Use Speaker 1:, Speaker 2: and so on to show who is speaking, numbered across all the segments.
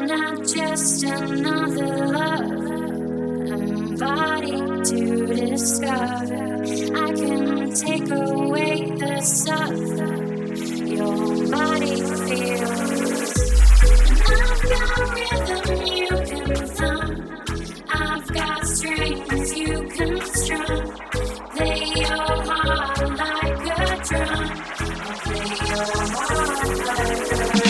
Speaker 1: not just another love, I'm body to discover. I can take away the suffer your body feels. I've got rhythm you can thumb, I've got strings you can strum. Play your heart like a drum. I'll play your heart like a drum.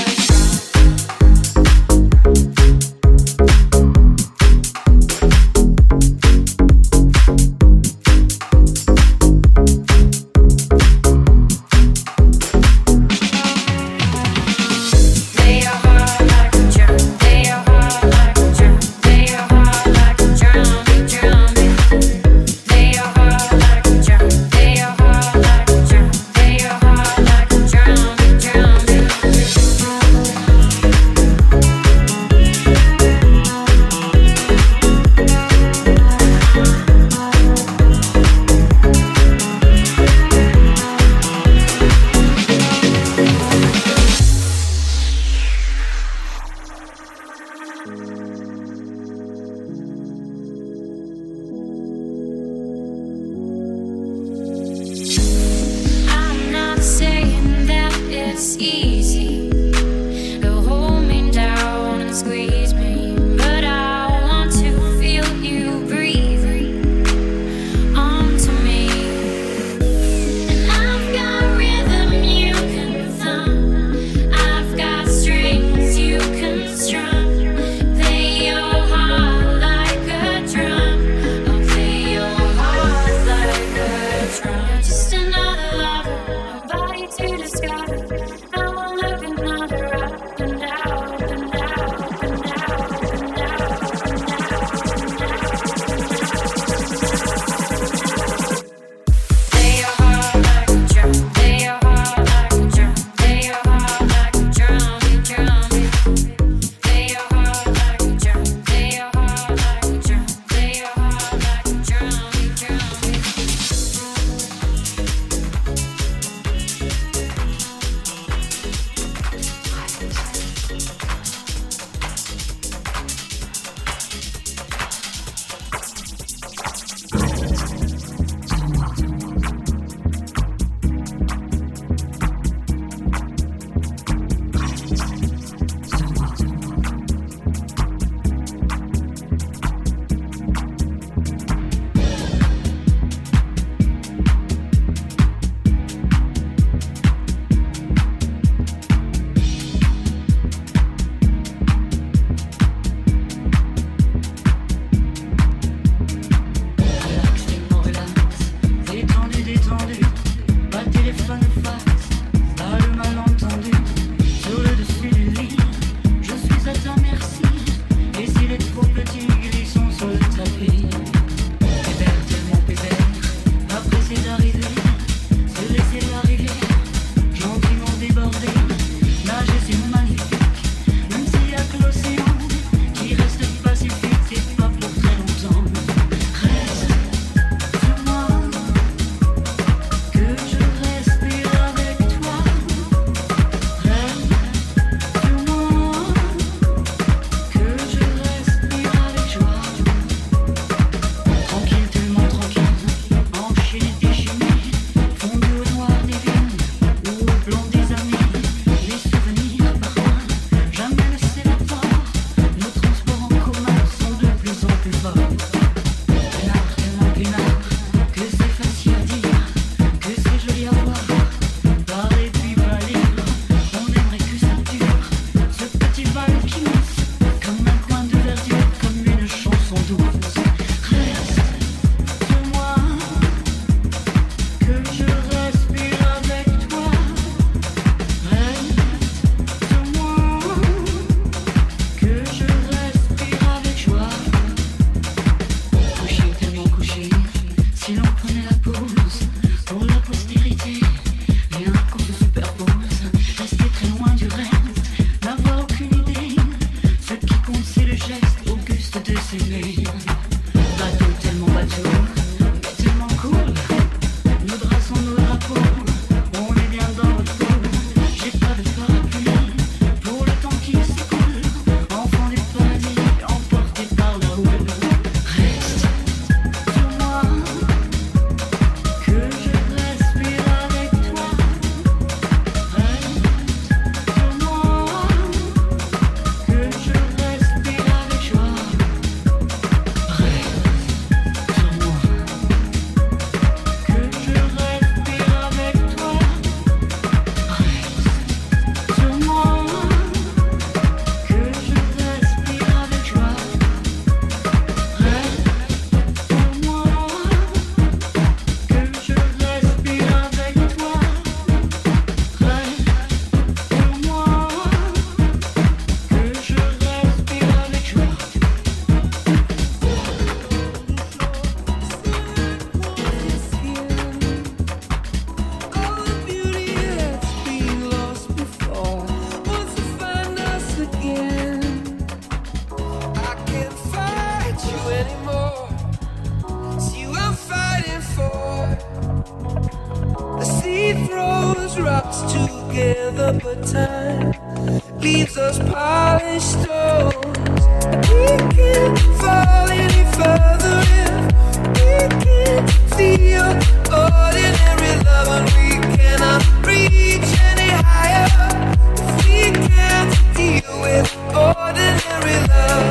Speaker 2: throws rocks together, but time leaves us polished stones. We can't fall any further if we can't feel ordinary love, and we cannot reach any higher if we can't deal with ordinary love.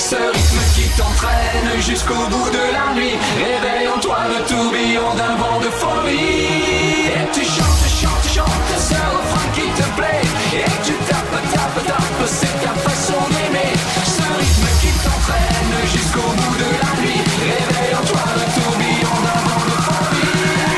Speaker 3: ce rythme qui t'entraîne jusqu'au bout de la nuit. Réveille en toi le tourbillon d'un vent de folie. Et tu chantes, chantes, chantes ce refrain qui te plaît. Et tu tapes, tapes, tapes, c'est ta façon d'aimer. Ce rythme qui t'entraîne jusqu'au bout de la nuit. Réveille en toi le tourbillon d'un vent de folie.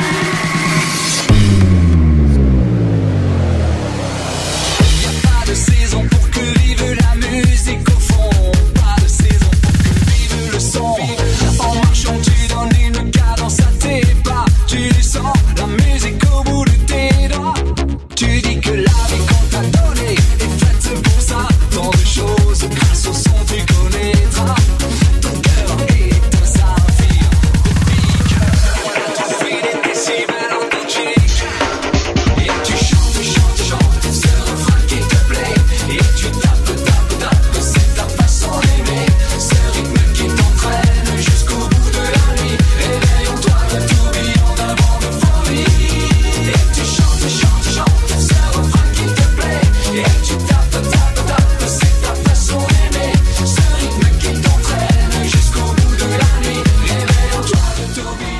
Speaker 3: Y'a pas de saison pour que vive la musique au fond. Pas de saison pour que vive le son. En marchant tu donnes une cadence à tes pas. Tu sens la musique au bout de tes doigts. Tu dis que la vie qu'on t'a donnée est faite pour ça. Tant de choses grâce au son tu connaîtras. Ton cœur est un saphir de pique. Tu fais des décibels en Belgique. Et tu chantes, chantes, chantes ce refrain qui te plaît. Et tu tapes, tapes, tapes, c'est ta façon d'aimer. Ce rythme qui t'entraîne jusqu'au bout de la nuit. Réveille en toi le tourbillon d'un vent de folie. Et tu chantes, chantes, chantes ce refrain qui te plaît. Et tu tapes, tapes, tapes, c'est ta façon d'aimer. Ce rythme qui t'entraîne jusqu'au bout de la nuit. Réveille en toi le tourbillon.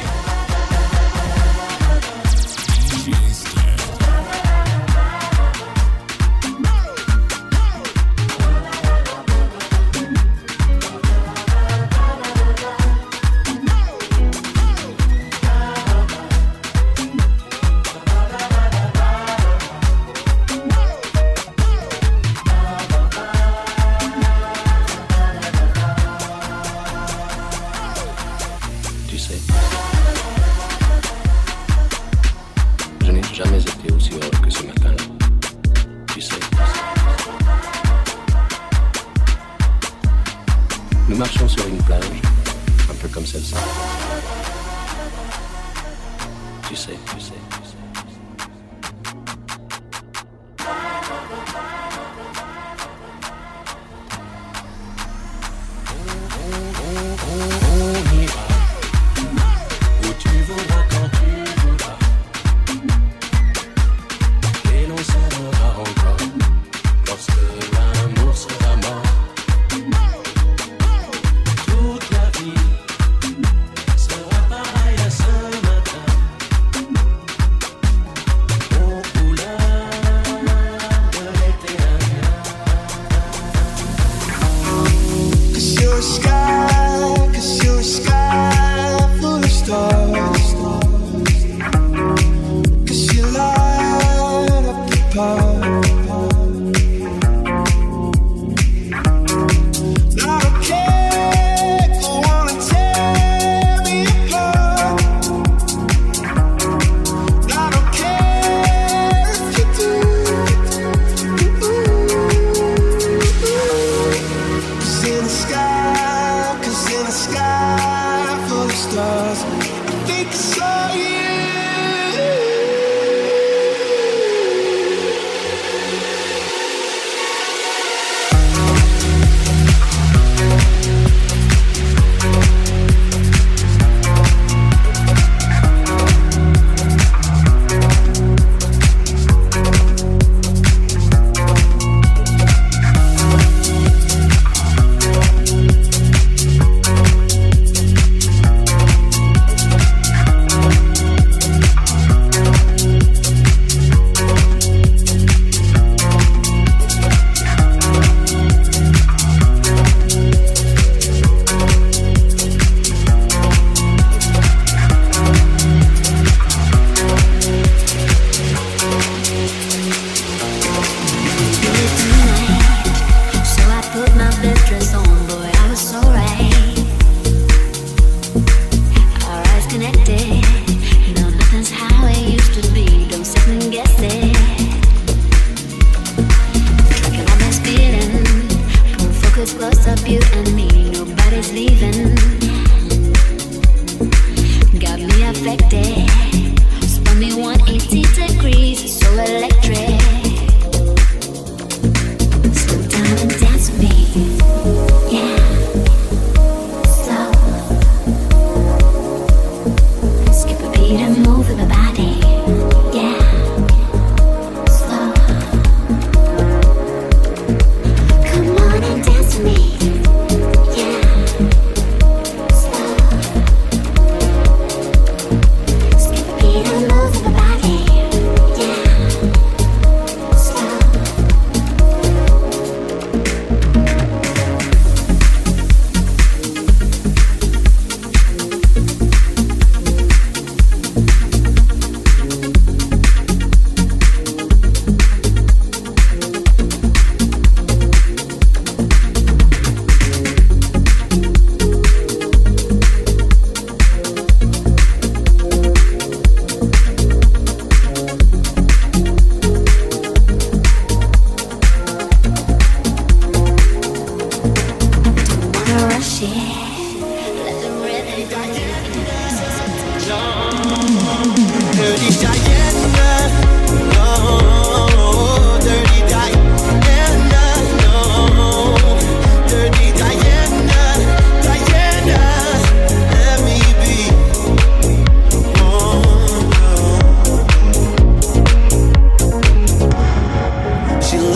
Speaker 4: Tu sais, je n'ai jamais été aussi heureux que ce matin-là. Tu sais, nous marchons sur une plage, un peu comme celle-ci. Tu sais, tu sais, tu sais. On ira où tu voudras, quand tu voudras, et l'on s'aimera encore lorsque l'amour sera mort. Toute la vie sera pareille à ce matin.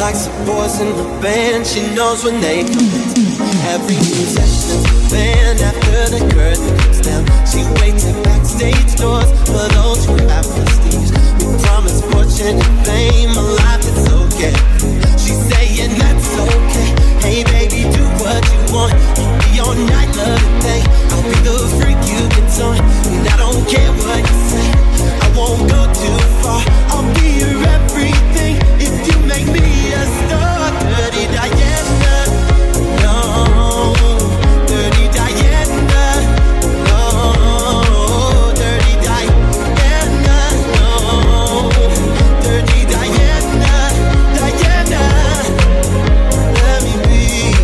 Speaker 2: likes the boys in the band. She knows when they come in. Every musician's a band after the curtain comes down. She waits at backstage doors for those who have prestige. We promise fortune and fame, a life that's okay. She's saying that's okay. Hey baby, do what you want. Keep me all night, love and day. I'll be the freak you can join, and I don't care what you say. I won't go too far. I'll be your everything if you make me a star. Dirty Diana, no. Dirty Diana, no. Dirty Diana, no. Dirty Diana, Diana, let me be.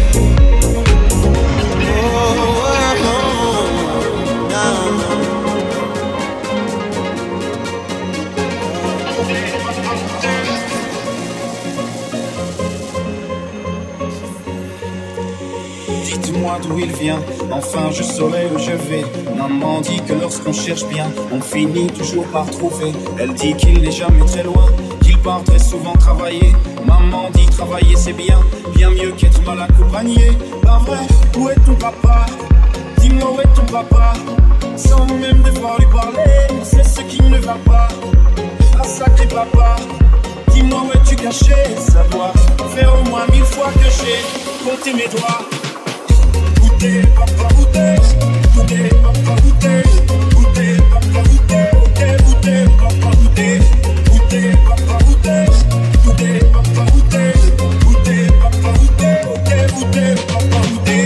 Speaker 5: Dites-moi d'où il vient, enfin je saurai où je vais. Maman dit que lorsqu'on cherche bien, on finit toujours par trouver. Elle dit qu'il n'est jamais très loin, qu'il part très souvent travailler. Maman dit travailler c'est bien, bien mieux qu'être mal accompagné. Pas vrai, où est ton papa? Dis-moi où est ton papa? Sans même devoir lui parler, c'est ce qui ne va pas. Ah sacré papa, dis-moi où es-tu caché? Savoir faire au moins 1000 fois que j'ai compté mes doigts. Où t'es, papa, où t'es? Où t'es, papa, où t'es? Où t'es, papa, où t'es? Où t'es, papa, où t'es? Où t'es, papa, où t'es? Où t'es, papa, où t'es? Où t'es, papa, où t'es? Où t'es, papa, où t'es?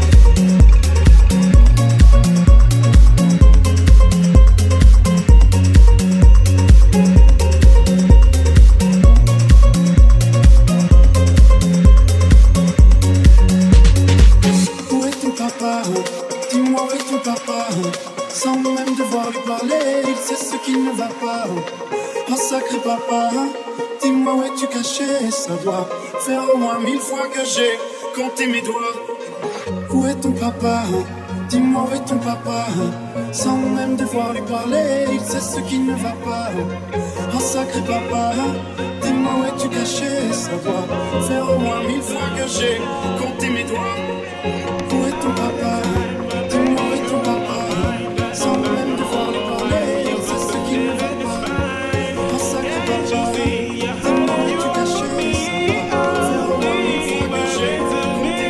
Speaker 5: Dis-moi où est ton papa? Sans même devoir lui parler, il sait ce qui ne va pas. Oh sacré papa, dis-moi où es-tu caché? Ça doit faire au moins 1000 fois que j'ai compté mes doigts. Où est ton papa? Dis-moi où est ton papa? Sans même devoir lui parler, il sait ce qui ne va pas. Oh sacré papa, dis-moi où es-tu caché? Ça doit faire au moins 1000 fois que j'ai compté mes doigts. Où est ton papa? Dis-moi où est ton papa? Sans même devoir lui parler, il sait ce qui ne va pas. Oh sacré papa, dis-moi où es-tu caché? Ça va faire au moins 1000 fois que j'ai compté.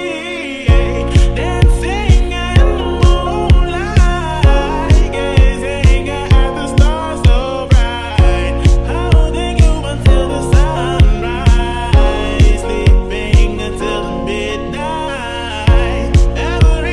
Speaker 6: Dancing in the moonlight, gazing at the stars so bright, holding you until the sunrise, sleeping until the midnight. Ever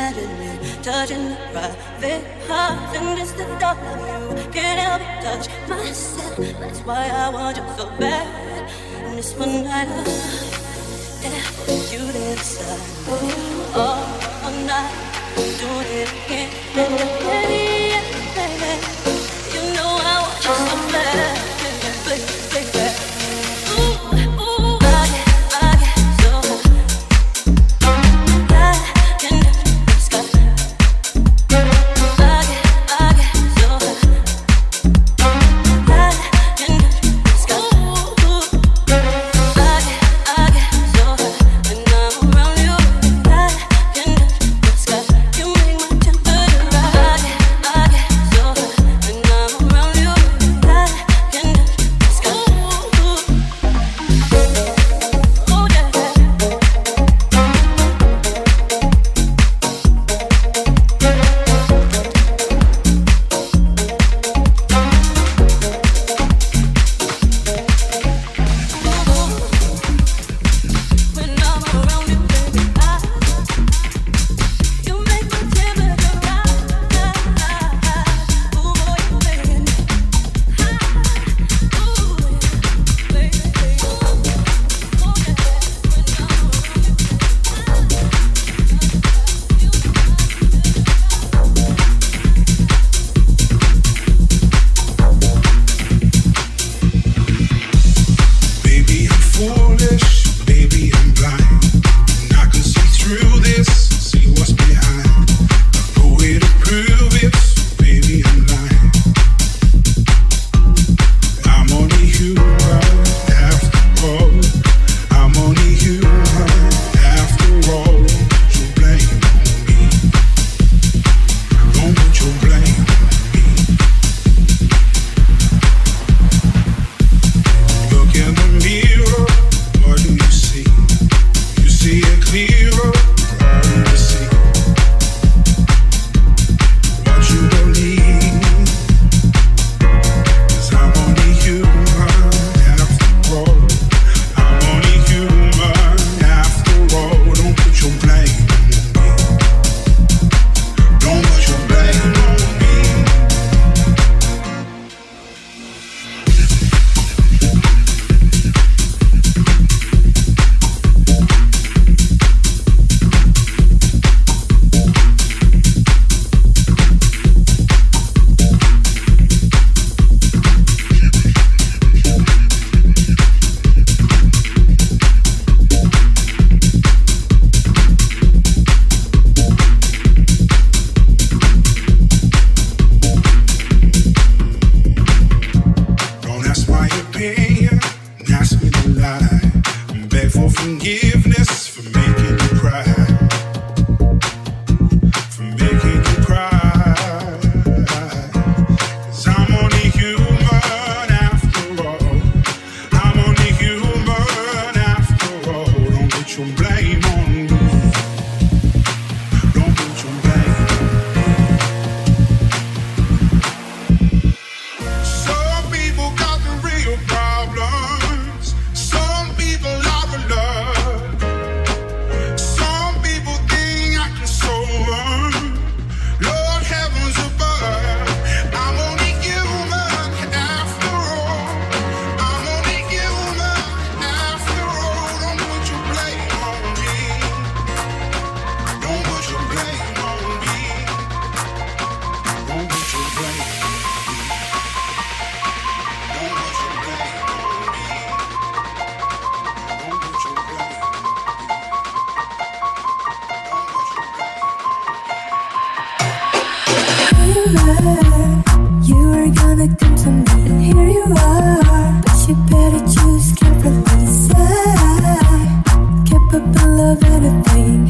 Speaker 7: imagine me touching the private parts, and it's the thought of you can't help but touch myself. That's why I want you so bad. And this one night you inside all night, doing it again and again, baby. You know I want you so bad, baby.
Speaker 8: You were gonna come to me, and here you are. But you better choose carefully. Say, capable of anything,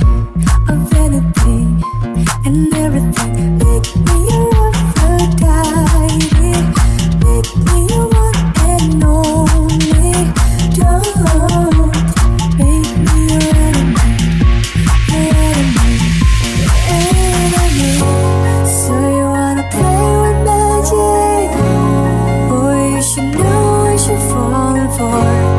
Speaker 8: and everything. Make me your Aphrodite. Make me your one and only. Don't make me your enemy. So you wanna play with magic? Boy, you should know what you're falling for.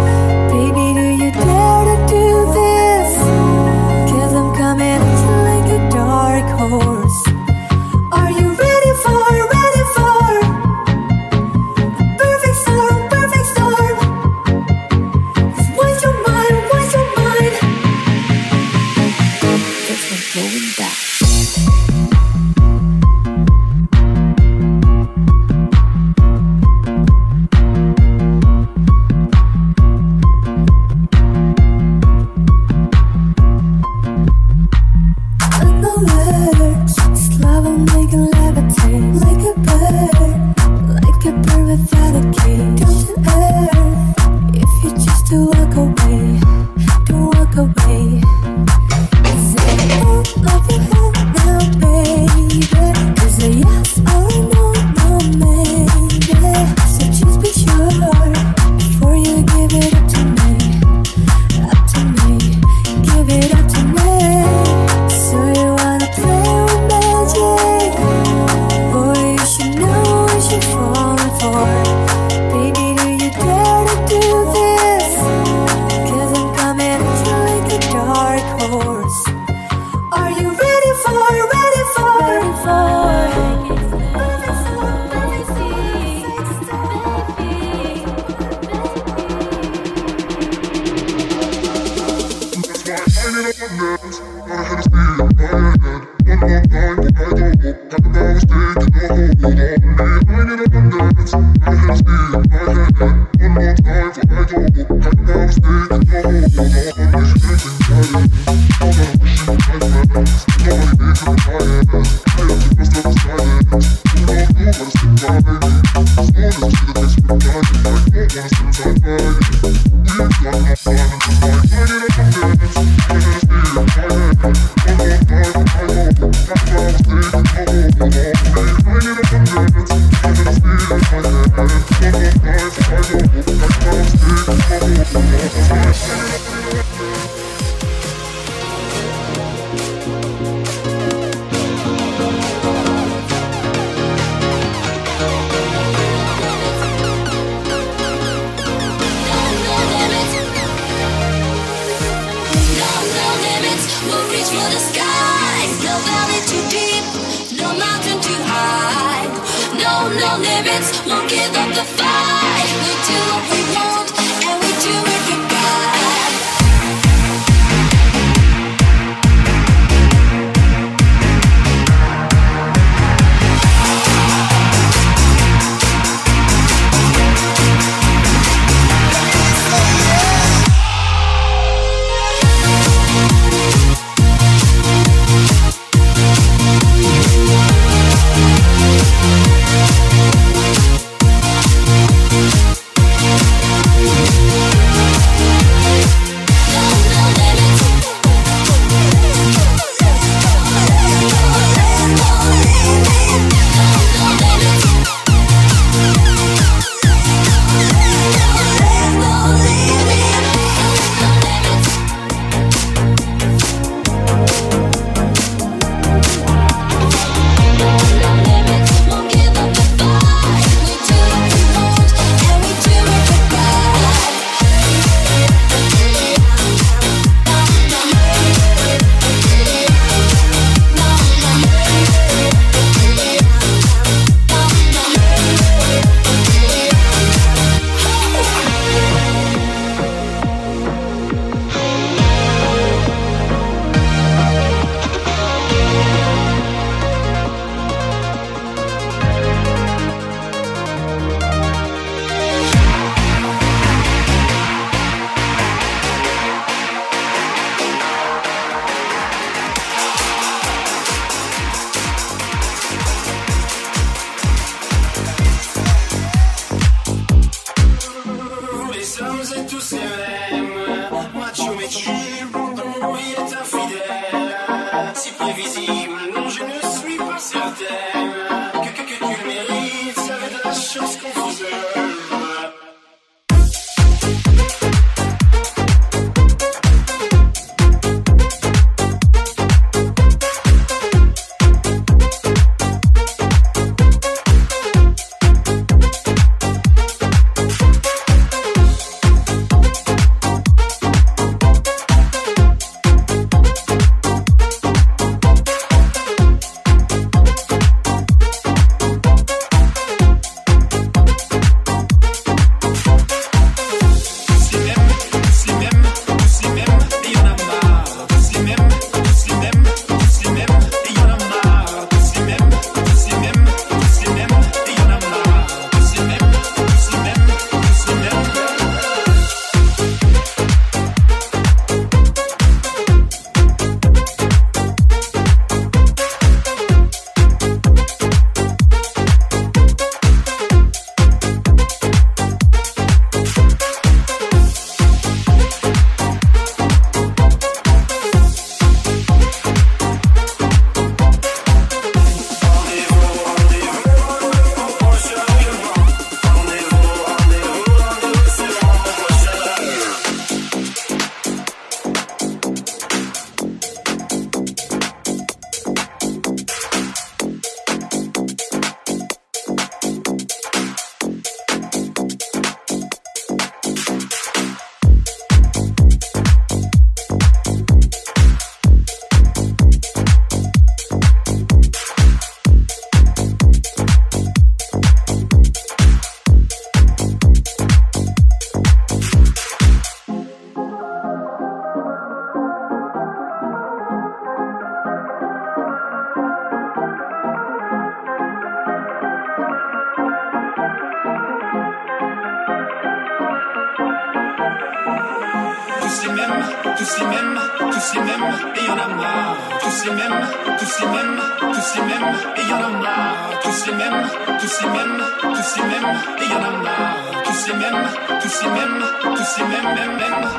Speaker 5: tous y m'aiment, et y'en a marre. Tous y m'aiment, tous y m'aiment, tous y m'aiment, et y'en a marre. Tous y m'aiment, tous y m'aiment, tous y m'aiment, et y'en a marre. Tous y m'aiment, tous y m'aiment, tous y m'aiment, même.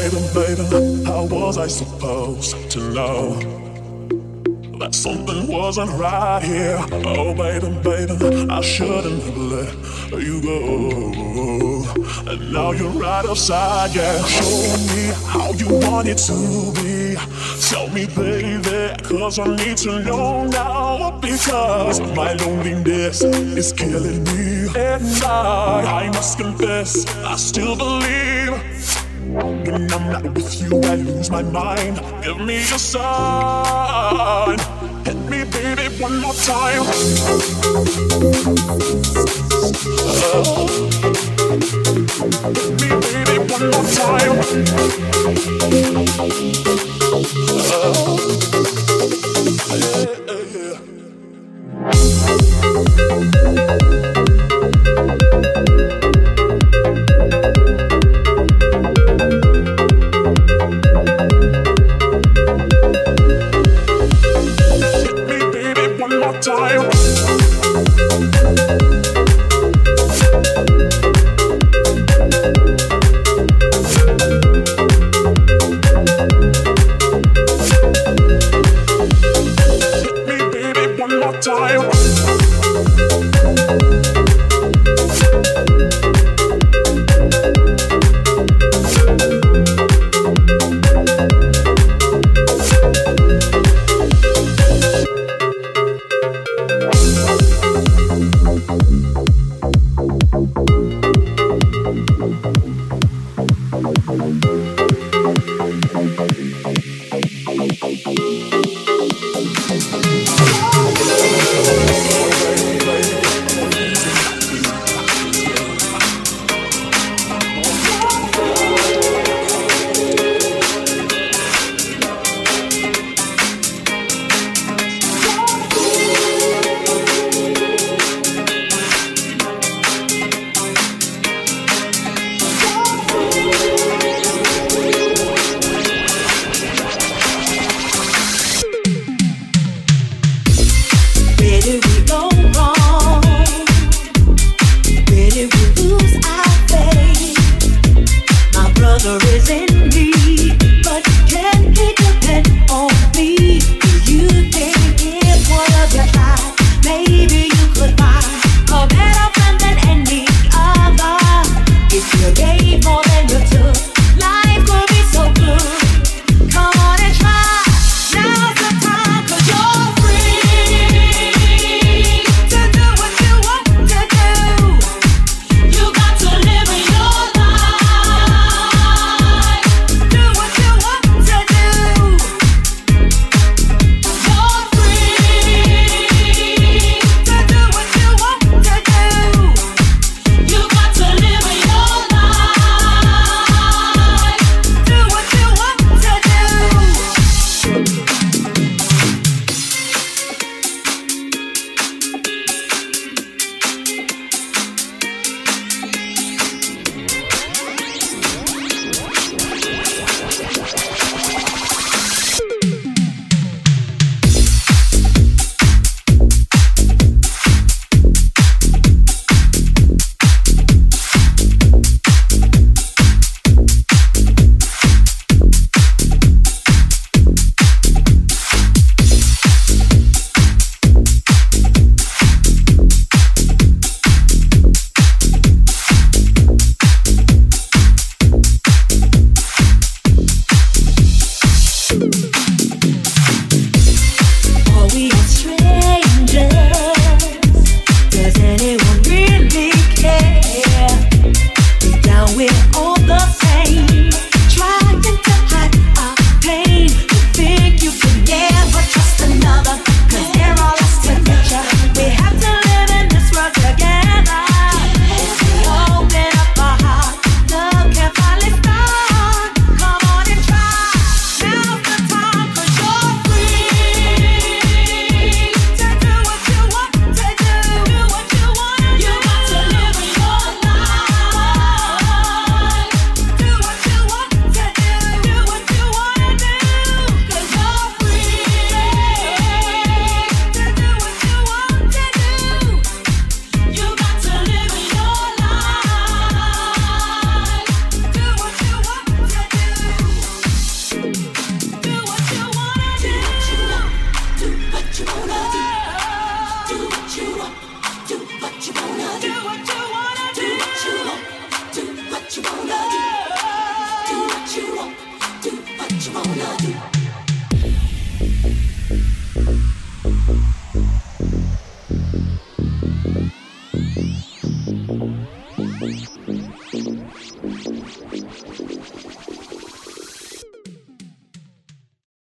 Speaker 9: baby, baby, how was I supposed to know that something wasn't right here? Oh, baby, baby, I shouldn't have let you go. And now you're right outside, yeah. Show me how you want it to be. Tell me, baby, cause I need to know now. Because my loneliness is killing me. And I must confess, I still believe when I'm not with you, I lose my mind. Give me a sign. Hit me, baby, one more time. Hit me, baby, one more time.